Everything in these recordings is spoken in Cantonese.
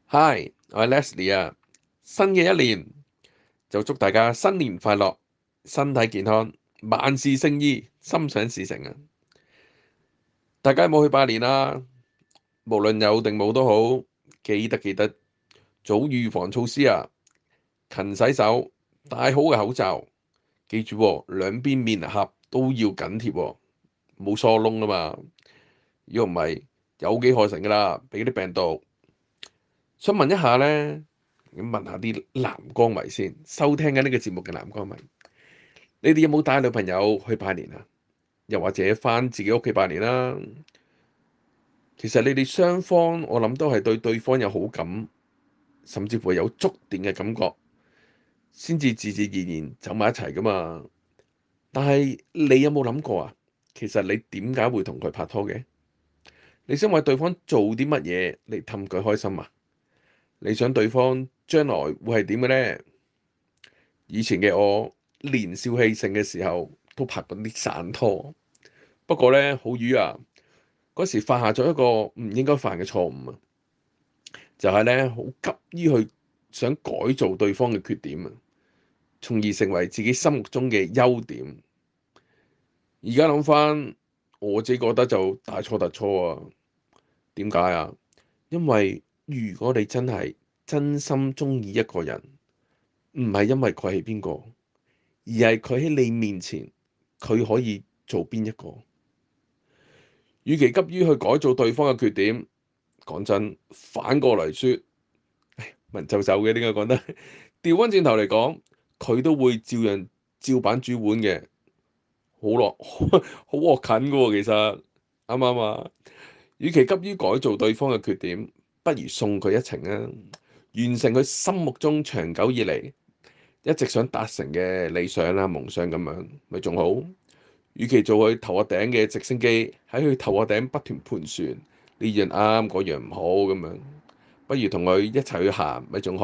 Hi，我係 Leslie 啊。新嘅一年就祝大家新年快樂，身體健康，萬事勝意，心想事成啊！大家有冇去拜年啊？無論有定冇都好，記得做好預防措施啊！勤洗手，戴好嘅口罩，記住喎，兩邊面頰都要緊貼喎，冇疏窿啊嘛。如果唔係，有機可乘噶啦，俾啲病毒。想問一下呢，問下啲男光迷先，收聽緊呢個節目嘅男光迷，你哋有冇帶女朋友去拜年啊？又或者返自己屋企拜年啦？其實你哋雙方，我諗都係對對方有好感，甚至乎有觸電嘅感覺，先至自自然然走埋一齊噶嘛。但係你有冇諗過啊？其實你點解會同佢拍拖嘅？你想為對方做啲乜嘢嚟氹佢開心啊？你想對方將來會係點嘅呢？以前嘅我年少氣盛嘅時候都拍過啲散拖，不過呢，好瘀啊！嗰時犯下咗一個唔應該犯嘅錯誤啊，就係呢，好急於去想改造對方嘅缺點啊，從而成為自己心目中嘅優點。而家諗翻，我自己覺得就大錯特錯啊！點解啊？因為如果你真係真心鍾意一個人，唔係因為佢係邊個，而係佢喺你面前，佢可以做邊一個。與其急於去改造對方嘅缺點，講真，反過嚟説，文縐縐嘅點解講得？調翻轉頭嚟講，佢都會照樣照板煮碗嘅，好落好惡近嘅喎。其實啱唔啱啊？與其急於改造對方嘅缺點，不如送佢一程啊！完成佢心目中長久以嚟一直想達成嘅理想啊、夢想咁樣，咪仲好？與其做佢頭殼頂嘅直升機喺佢頭殼頂不斷盤旋，呢樣啱，嗰樣唔好咁樣，不如同佢一齊去行，咪仲好？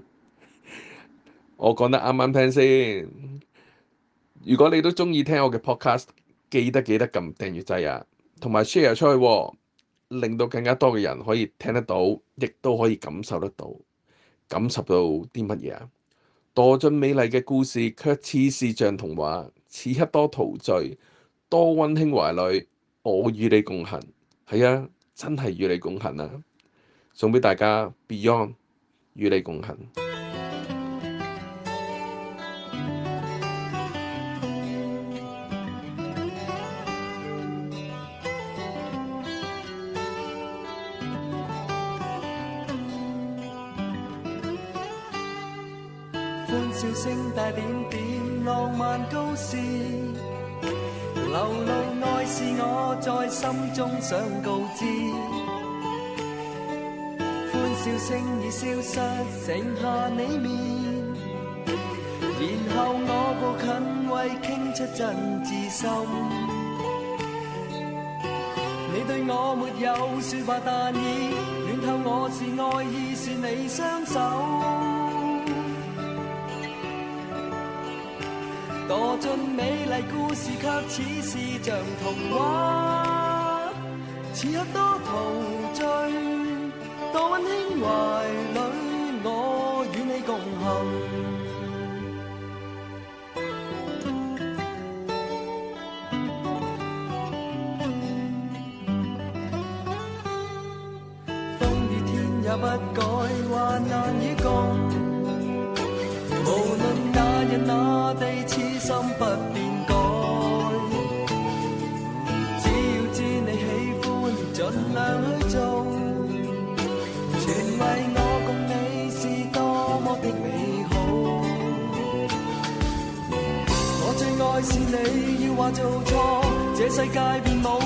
我講得啱啱聽先。如果你都鍾意聽我嘅 podcast，記得撳訂閱掣啊，同埋 share 出去喎，令到更加多嘅人可以聽得到，亦都可以感受得到。感受到啲乜嘢啊？墮進美麗嘅故事，卻似是像童話，此刻多陶醉，多溫馨懷裡，我與你共行。係啊，真係與你共行啊！送俾大家 Beyond 與你共行。 歡笑聲帶點點浪漫高士，流露愛是我在心中想告知。歡笑聲已消失，剩下你面，然後我步近為傾出真摯心。你對我沒有説話，但已暖透我是愛意，是你雙手。墮進美麗故事，卻似是像童話。此刻多陶醉，多溫馨懷裡，我與你共行。風雨天也不改，患難與共。無論那人那地，痴心不變改。只要知你喜歡，盡量去做，全為我共你是多麼的美好。我最愛是你，要話做錯，這世界便無